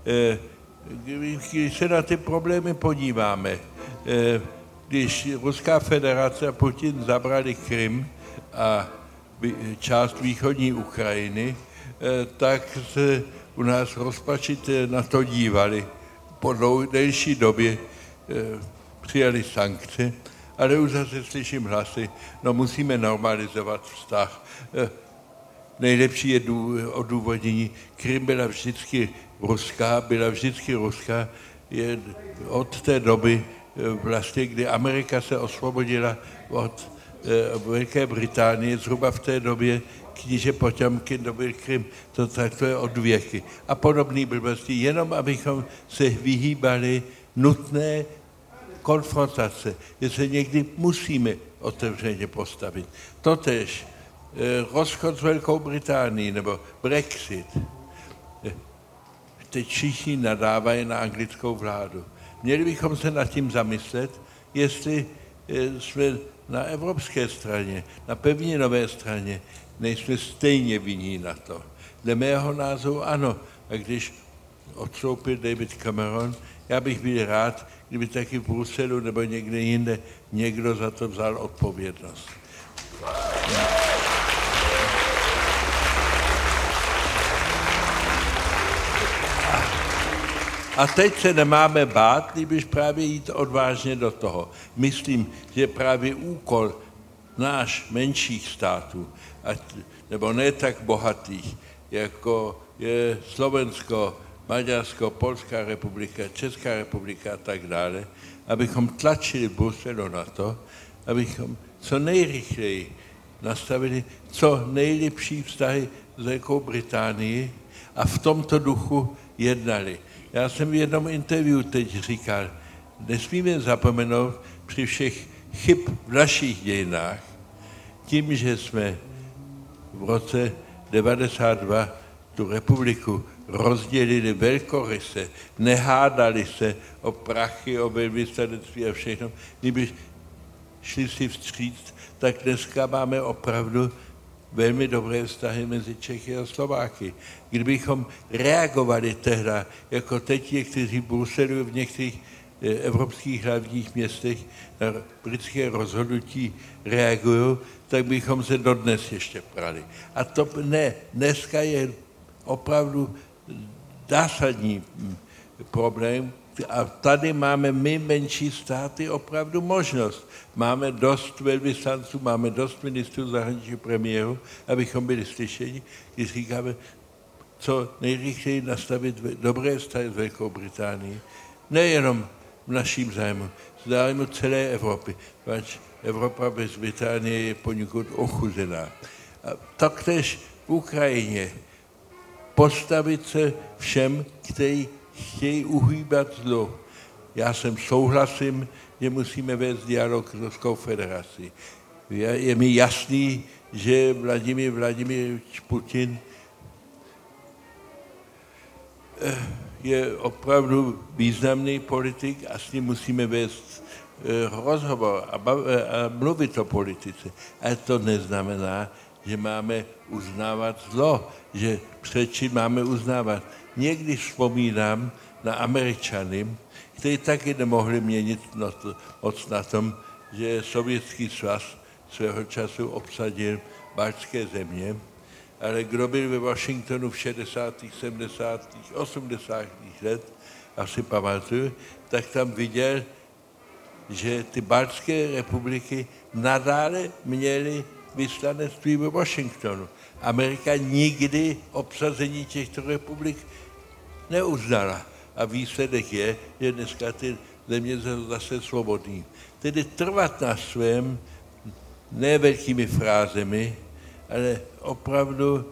když se na ty problémy podíváme. Když Ruská federace a Putin zabrali Krym a část východní Ukrajiny, tak se u nás rozpačitě na to dívali. Po delší době přijali sankce, ale už zase slyším hlasy, no musíme normalizovat vztah. Nejlepší je odůvodnění. Krym byla vždycky ruská, je od té doby vlastně, kdy Amerika se osvobodila od Velké Británie, zhruba v té době kníže Poťomkin dobil Krym, to je od věky. A podobné blbosti, jenom abychom se vyhýbali nutné konfrontace, že se někdy musíme otevřeně postavit. Totež rozchod s Velkou Británií nebo Brexit. Teď všichni nadávají na anglickou vládu. Měli bychom se nad tím zamyslet, jestli jsme na evropské straně, na pevninové straně, nejsme stejně vinní na to. Dle mého názoru ano. A když odstoupil David Cameron, já bych byl rád, kdyby taky v Bruselu nebo někde jinde někdo za to vzal odpovědnost. A teď se nemáme bát, když právě jít odvážně do toho. Myslím, že právě úkol náš menších států, nebo ne tak bohatých, jako je Slovensko, Maďarsko, Polská republika, Česká republika a tak dále, abychom tlačili Bruselu na to, abychom co nejrychleji nastavili co nejlepší vztahy s Velkou Británií a v tomto duchu jednali. Já jsem v jednom interview teď říkal, nesmíme zapomenout při všech chyb v našich dějinách, tím, že jsme v roce 92 tu republiku rozdělili velkoryse, nehádali se o prachy, o velvyslanectví a všechno. Kdyby šli si vstříct, tak dneska máme opravdu velmi dobré vztahy mezi Čechy a Slováky. Kdybychom reagovali tehda, jako teď někteří v Bruselu, v některých evropských hlavních městech na britské rozhodnutí reagují, tak bychom se dodnes ještě prali. A to ne, dneska je opravdu zásadní problém a tady máme my menší státy opravdu možnost. Máme dost velvyslanců, máme dost ministrů zahraničí premiéru, abychom byli slyšeni, když říkáme, co nejrychleji nastavit dobré vztahy s Velkou Británií. Nejenom v naším zájmu, v zájmu celé Evropy, protože Evropa bez Británie je poněkud ochuzená. A taktéž v Ukrajině postavit se všem, kteří chtějí uhýbat zlo. Já souhlasím, že musíme vést dialog s Ruskou federací. Je mi jasný, že Vladimír Vladimirovič Putin je opravdu významný politik a s ním musíme vést rozhovor a mluvit o politice. Ale to neznamená, že máme uznávat zlo, že před čím máme uznávat. Někdy vzpomínám na Američany, kteří taky nemohli měnit moc na tom, že Sovětský svaz svého času obsadil baltské země, ale kdo byl ve Washingtonu v 60., 70., 80. let, asi pamatuju, tak tam viděl, že ty baltské republiky nadále měly vyslanectví ve Washingtonu. Amerika nikdy obsazení těchto republik neuznala. A výsledek je, že dneska ty země jsou zase svobodný. Tedy trvat na svém, ne velkými frázemi, ale opravdu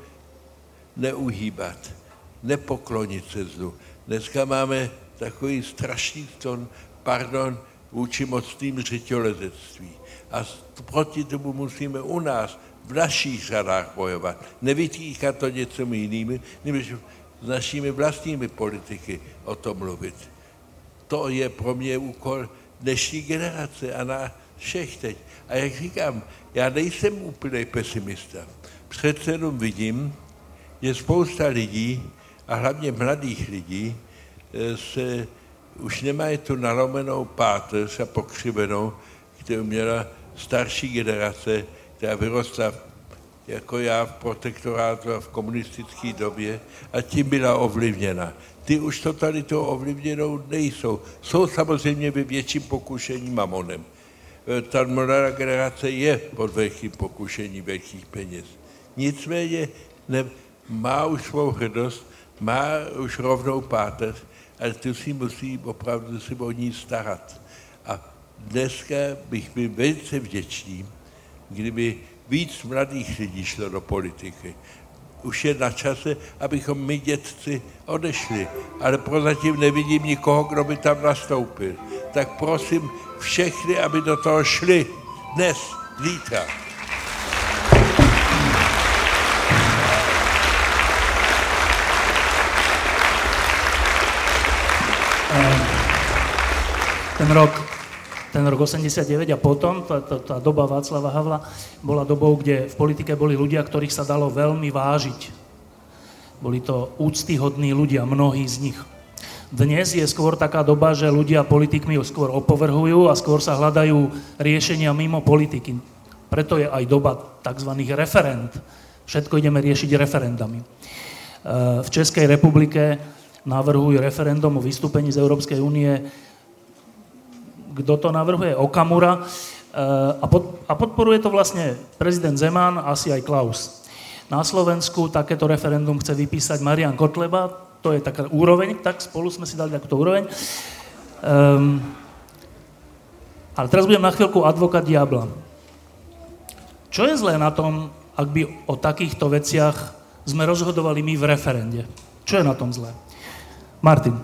neuhýbat, nepoklonit se zlu. Dneska máme takový strašný pardon, vůči mocným řetělezectví. A proti tomu musíme u nás, v našich řadách bojovat. Nevytýkat to něčemu jiným, než s našimi vlastními politiky o tom mluvit. To je pro mě úkol dnešní generace a na všech teď. A jak říkám, já nejsem úplný pesimista. Přece jenom vidím, že spousta lidí, a hlavně mladých lidí, se už nemají tu nalomenou páteř a pokřivenou, kterou měla starší generace, která vyrostla jako já v protektorátu a v komunistické době a tím byla ovlivněna. Ty už totalitou ovlivněnou nejsou. Jsou samozřejmě ve větším pokušení mamonem. Ta mladá generace je pod velkým pokušením velkých peněz. Nicméně má už svou hrdost, má už rovnou páteř, ale tu si musí opravdu si o ní starat. A dneska bych byl velice vděčný, kdyby víc mladých lidí šlo do politiky. Už je na čase, abychom my dětci odešli, ale prozatím nevidím nikoho, kdo by tam nastoupil. Tak prosím všechny, aby do toho šli dnes, zítra.
Ten rok 89 a potom, tá doba Václava Havla bola dobou, kde v politike boli ľudia, ktorých sa dalo veľmi vážiť. Boli to úctyhodní ľudia, mnohí z nich. Dnes je skôr taká doba, že ľudia politikmi skôr opovrhujú a skôr sa hľadajú riešenia mimo politiky. Preto je aj doba tzv. Referend. Všetko ideme riešiť referendami. V Českej republike navrhujú referendum o vystúpení z Európskej únie. Kto to navrhuje? Okamura. A podporuje to vlastne prezident Zeman, asi aj Klaus. Na Slovensku takéto referendum chce vypísať Marian Kotleba. To je taká úroveň, tak spolu sme si dali takúto úroveň. Ale teraz budem na chvíľku advokát diabla. Čo je zlé na tom, ak by o takýchto veciach sme rozhodovali my v referende? Čo je na tom zlé? Martin.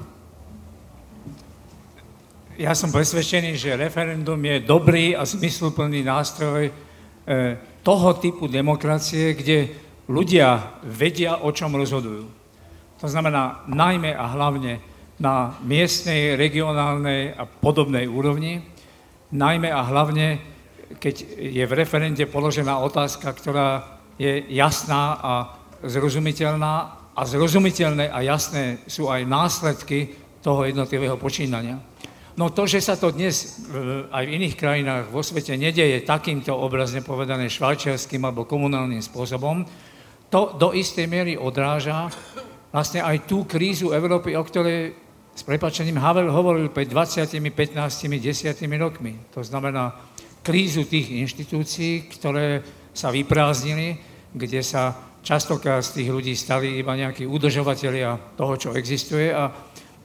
Ja som presvedčený, že referendum je dobrý a zmysluplný nástroj toho typu demokracie, kde ľudia vedia, o čom rozhodujú. To znamená najmä a hlavne na miestnej, regionálnej a podobnej úrovni, najmä a hlavne, keď je v referende položená otázka, ktorá je jasná a zrozumiteľná, a zrozumiteľné a jasné sú aj následky toho jednotlivého počínania. No to, že sa to dnes aj v iných krajinách vo svete nedeje takýmto obrazne povedané švajčiarským alebo komunálnym spôsobom, to do istej miery odráža vlastne aj tú krízu Európy, o ktorej s prepáčením Havel hovoril pred 20, 15, 10 rokmi. To znamená krízu tých inštitúcií, ktoré sa vyprázdnili, kde sa častokrát z tých ľudí stali iba nejakí udržovatelia toho, čo existuje a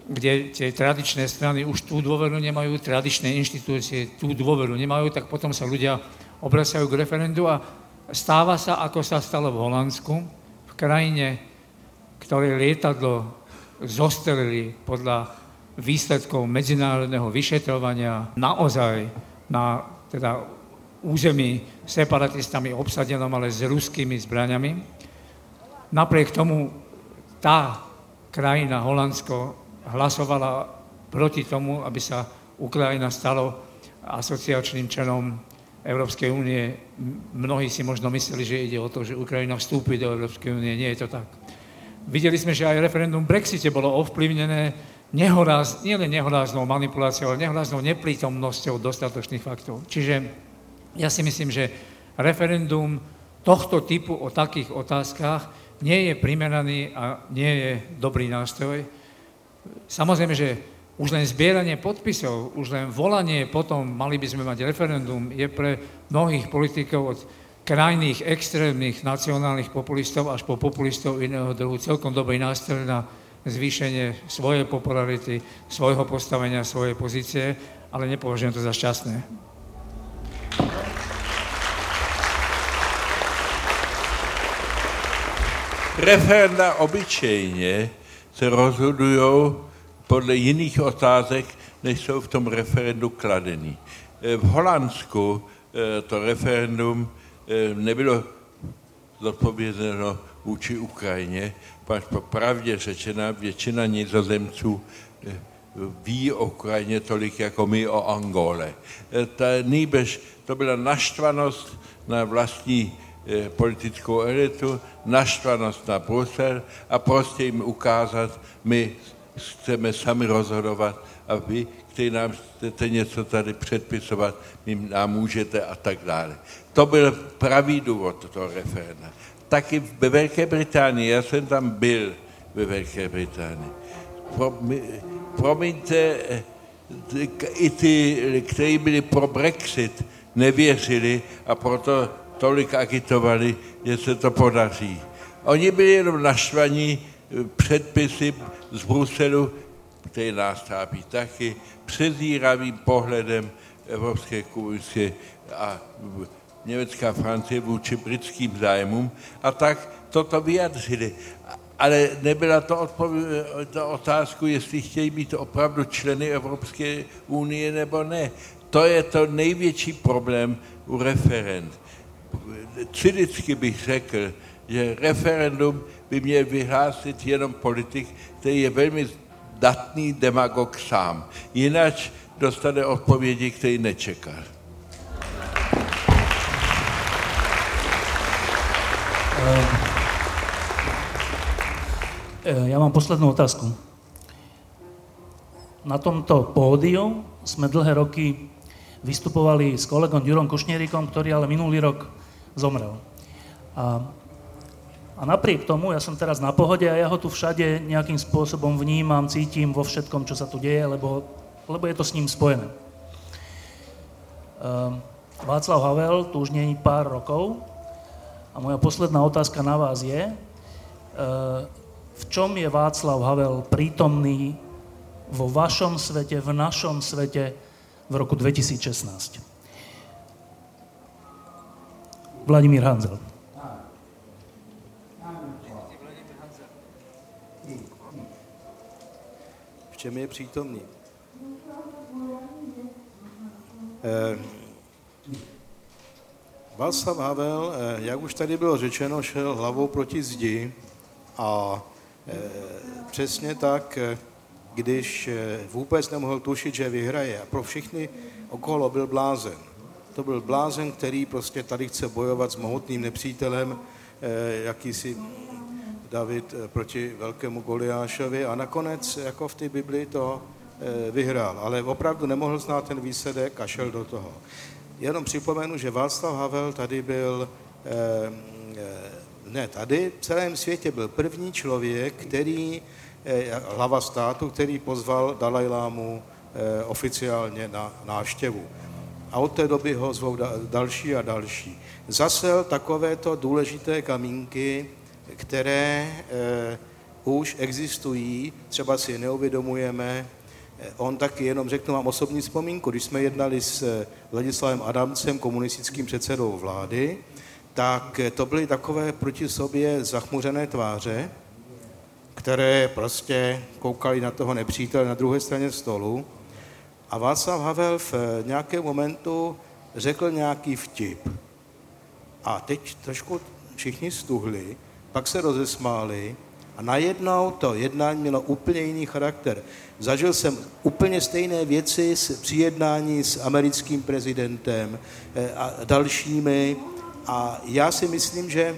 kde tie tradičné strany už tú dôveru nemajú, tradičné inštitúcie tú dôveru nemajú, tak potom sa ľudia obracajú k referendu a stáva sa, ako sa stalo v Holandsku, v krajine, ktoré lietadlo zostrelili podľa výsledkov medzinárodného vyšetrovania naozaj na teda území separatistami obsadenom, ale s ruskými zbraňami. Napriek tomu tá krajina, Holandsko, hlasovala proti tomu, aby sa Ukrajina stalo asociačným členom Európskej únie. Mnohí si možno mysleli, že ide o to, že Ukrajina vstúpi do Európskej únie. Nie je to tak. Videli sme, že aj referendum v Brexite bolo ovplyvnené nielen nehoráznou manipuláciou, ale nehoráznou neprítomnosťou dostatočných faktov. Čiže ja si myslím, že referendum tohto typu o takých otázkach nie je primeraný a nie je dobrý nástroj. Samozrejme, že už len zbieranie podpisov, už len volanie potom, mali by sme mať referendum, je pre mnohých politikov od krajných, extrémnych, nacionálnych populistov až po populistov iného druhu celkom dobrý nástroj na zvýšenie svojej popularity, svojho postavenia, svojej pozície, ale nepovažujem to za šťastné.
Referenda obyčejně se rozhodují podle jiných otázek, než jsou v tom referendu kladený. V Holandsku to referendum nebylo zodpovězeno vůči Ukrajině, pač popravdě řečena většina Nizozemců ví o Ukrajině tolik, jako my o Angole. Nýbrž to byla naštvanost na vlastní politickou elitu, naštvanost na Brusel a prostě jim ukázat, my chceme sami rozhodovat a vy, kteří nám chcete něco tady předpisovat, nám můžete a tak dále. To byl pravý důvod toho referenda. Taky ve Velké Británii, já jsem tam byl ve Velké Británii. Promiňte, i ty, kteří byli pro Brexit, nevěřili a proto tolik agitovali, že se to podaří. Oni byli jenom naštvaní předpisy z Bruselu, který nás trápí taky, přezíravým pohledem Evropské komise a Německá Francie vůči britským zájmům a tak toto vyjadřili. Ale nebyla to otázku, jestli chtějí být opravdu členy Evropské unie nebo ne. To je to největší problém u referend. Cynicky bych řekl, že referendum by měl vyhlásit jenom politik, který je velmi zdatný demagog sám. Jinak dostane odpovědi, který nečekal.
Ja mám poslednú otázku. Na tomto pódiu sme dlhé roky vystupovali s kolegom Ďurom Kušnieríkom, ktorý ale minulý rok zomrel. A napriek tomu, ja som teraz na pohode a ja ho tu všade nejakým spôsobom vnímam, cítim vo všetkom, čo sa tu deje, lebo je to s ním spojené. Václav Havel tu už nie je pár rokov a moja posledná otázka na vás je, v čom je Václav Havel prítomný vo vašom svete, v našom svete v roku 2016? Vladimír Hanzel.
V čem je přítomný? Václav Havel, jak už tady bylo řečeno, šel hlavou proti zdi a přesně tak, když vůbec nemohl tušit, že vyhraje. A pro všechny okolo byl blázen. To byl blázen, který prostě tady chce bojovat s mohutným nepřítelem, jakýsi David proti velkému Goliášovi a nakonec jako v té Bibli to vyhrál. Ale opravdu nemohl znát ten výsledek a šel do toho. Jenom připomenu, že Václav Havel tady byl, v celém světě byl první člověk, který, hlava státu, který pozval Dalajlámu oficiálně na návštěvu. A od té doby ho zvou další a další. Zasel takovéto důležité kamínky, které už existují, třeba si je neuvědomujeme. On taky, jenom řeknu vám osobní vzpomínku, když jsme jednali s Ladislavem Adamcem, komunistickým předsedou vlády, tak to byly takové proti sobě zachmuřené tváře, které prostě koukali na toho nepřítele na druhé straně stolu. A Václav Havel v nějakém momentu řekl nějaký vtip. A teď trošku všichni stuhli, pak se rozesmáli a najednou to jednání mělo úplně jiný charakter. Zažil jsem úplně stejné věci při jednání s americkým prezidentem a dalšími a já si myslím, že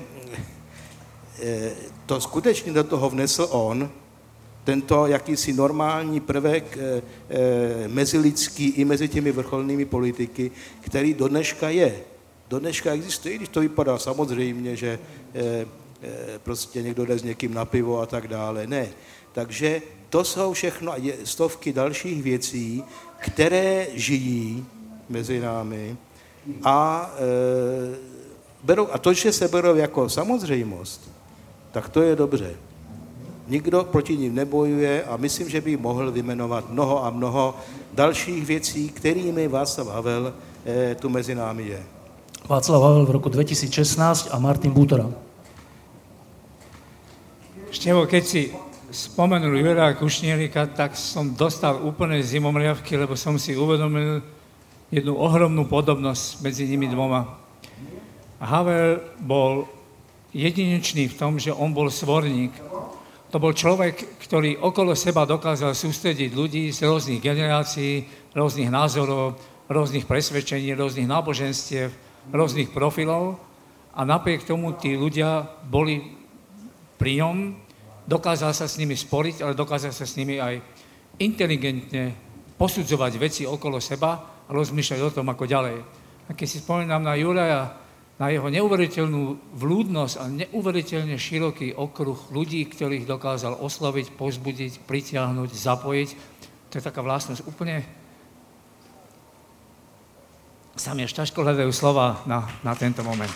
to skutečně do toho vnesl on, tento jakýsi normální prvek mezilidský i mezi těmi vrcholnými politiky, který do dneška je. Do dneška existuje, i když to vypadá samozřejmě, že prostě někdo jde s někým na pivo a tak dále. Ne. Takže to jsou všechno stovky dalších věcí, které žijí mezi námi a to, že se berou jako samozřejmost, tak to je dobře. Nikdo proti nim nebojuje a myslím, že by mohl vyjmenovat mnoho a mnoho dalších věcí, kterými Václav Havel tu mezi námi je.
Václav Havel v roku 2016 a Martin Butora.
Števo, keď si spomenul Juraja Kušnierika, tak som dostal úplne zimomriavky, lebo som si uvedomil jednu ohromnú podobnosť medzi nimi dvoma. Havel bol jedinečný v tom, že on bol svorník. To bol človek, ktorý okolo seba dokázal sústrediť ľudí z rôznych generácií, rôznych názorov, rôznych presvedčení, rôznych náboženstiev, rôznych profilov a napriek tomu tí ľudia boli pri ňom, dokázal sa s nimi sporiť, ale dokázal sa s nimi aj inteligentne posudzovať veci okolo seba a rozmýšľať o tom, ako ďalej. A keď si spomínam na Juraja, na jeho neuveriteľnú vľúdnosť a neuveriteľne široký okruh ľudí, ktorých dokázal osloviť, povzbudiť, pritiahnuť, zapojiť, to je taká vlastnosť úplne... Sa mi až ťažko hľadajú slova na tento moment.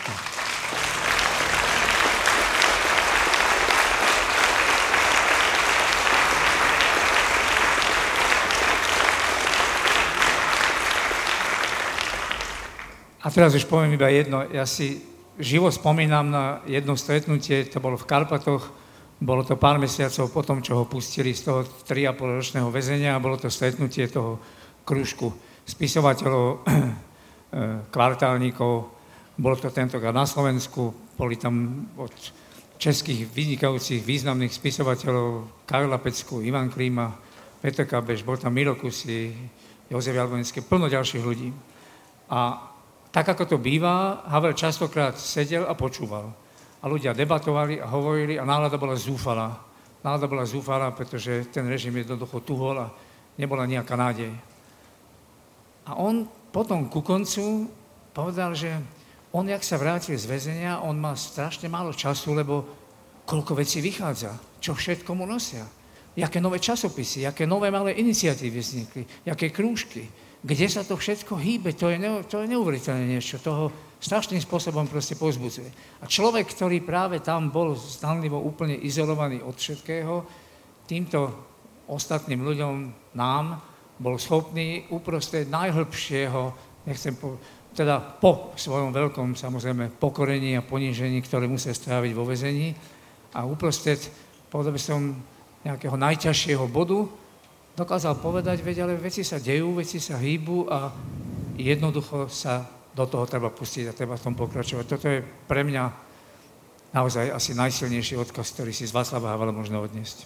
A teraz už poviem iba jedno. Ja si živo spomínam na jedno stretnutie, to bolo v Karpatoch, bolo to pár mesiacov po tom, čo ho pustili z toho 3,5-ročného väzenia a bolo to stretnutie toho krúžku spisovateľov, kvartálnikov. Bolo to tentokrát na Slovensku, boli tam od českých vynikajúcich významných spisovateľov Karla Pecku, Ivan Klíma, Petr Kabeš, bol tam Miro Kusy, Jozef Jablonský, plno ďalších ľudí. A tak, ako to býva, Havel častokrát sedel a počúval. A ľudia debatovali a hovorili a nálada bola zúfalá. Nálada bola zúfalá, pretože ten režim jednoducho tuhol a nebola nejaká nádej. A on potom ku koncu povedal, že on, jak sa vrátil z väzenia, on má strašne málo času, lebo koľko vecí vychádza, čo všetko mu nosia. Jaké nové časopisy, jaké nové malé iniciatívy vznikli, jaké krúžky. Kde sa to všetko hýbe, to je neuveriteľné niečo, toho strašným spôsobom proste povzbudzuje. A človek, ktorý práve tam bol zdanlivo úplne izolovaný od všetkého, týmto ostatným ľuďom, nám, bol schopný uprostred najhlbšieho, teda po svojom veľkom, samozrejme, pokorení a ponížení, ktoré musel stráviť vo väzení, a uprostred, povedal by som, nejakého najťažšieho bodu, dokázal povedať, veď, ale veci sa dejú, veci sa hýbu a jednoducho sa do toho treba pustiť a treba v tom pokračovať. Toto je pre mňa naozaj asi najsilnejší odkaz, ktorý si z Václava Havela možno odniesť.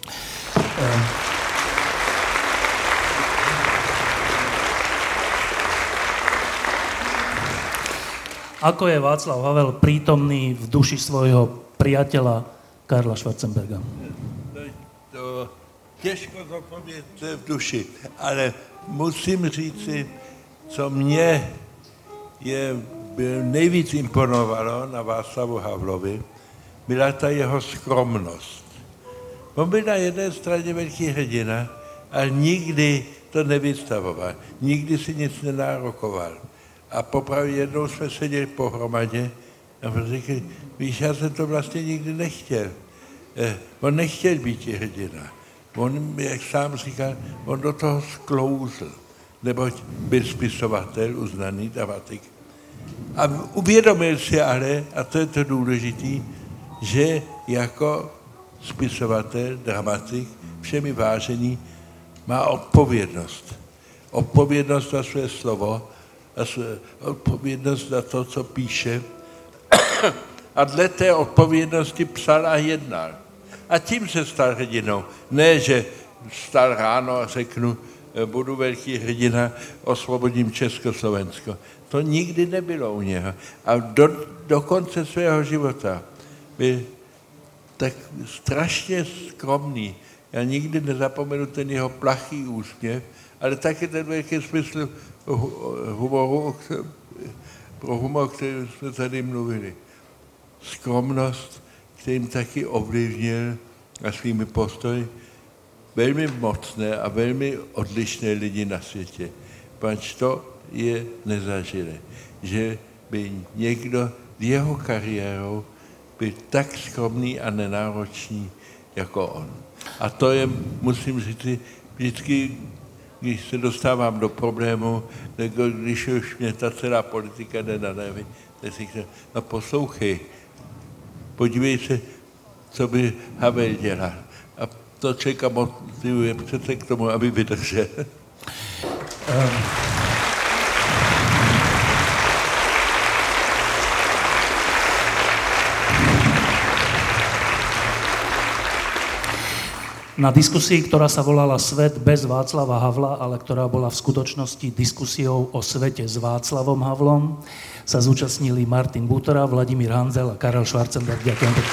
Ako je Václav Havel prítomný v duši svojho priateľa Karla Schwarzenberga?
Těžko zodpovědět, co je v duši, ale musím říci, co mě nejvíc imponovalo na Václavu Havlovi, byla ta jeho skromnost. On byl na jedné straně velký hrdina, ale nikdy to nevystavoval, nikdy si nic nenárokoval. A popravdě jednou jsme seděli pohromadě a řekli, víš, já jsem to vlastně nikdy nechtěl. On nechtěl být hrdina. On, jak sám říká, on do toho sklouzl, neboť byl spisovatel, uznaný dramatik. A uvědomil si ale, a to je to důležitý, že jako spisovatel, dramatik, všemi vážený, má odpovědnost. Odpovědnost za své slovo, a odpovědnost za to, co píše. A dle té odpovědnosti psal a jednal. A tím se stal hrdinou. Ne, že vstal ráno a řeknu, budu velký hrdina, osvobodím Československo. To nikdy nebylo u něho. A do konce svého života byl tak strašně skromný. Já nikdy nezapomenu ten jeho plachý úsměv, ale taky ten velký smysl humoru, pro humor, o kterém jsme tady mluvili. Skromnost, kterým taky ovlivnil a svými postoji velmi mocné a velmi odlišné lidi na světě. Pač to je nezažilé, že by někdo s jeho kariérou byl tak skromný a nenáročný jako on. A to je, musím říct, vždycky, když se dostávám do problému, nebo když už mě ta celá politika jde na nervy, tak si říkám, no poslouchej, podívej se, co by Havel dělal. A to člověka motivuje přece k tomu, aby vydržel.
Na diskusii, ktorá sa volala Svet bez Václava Havla, ale ktorá bola v skutočnosti diskusiou o svete s Václavom Havlom, sa zúčastnili Martin Butora, Vladimír Hanzel a Karel Schwarzenberg. Ďakujem pekne.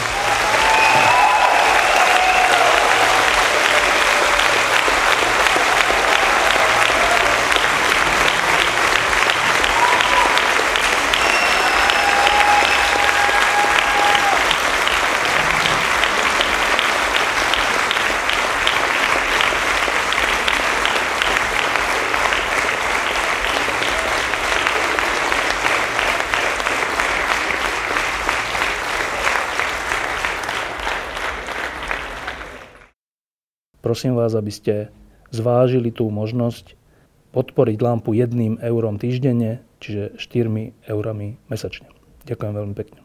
Prosím vás, aby ste zvážili tú možnosť podporiť Lampu 1 eurom týždenne, čiže 4 eurami mesačne. Ďakujem veľmi pekne.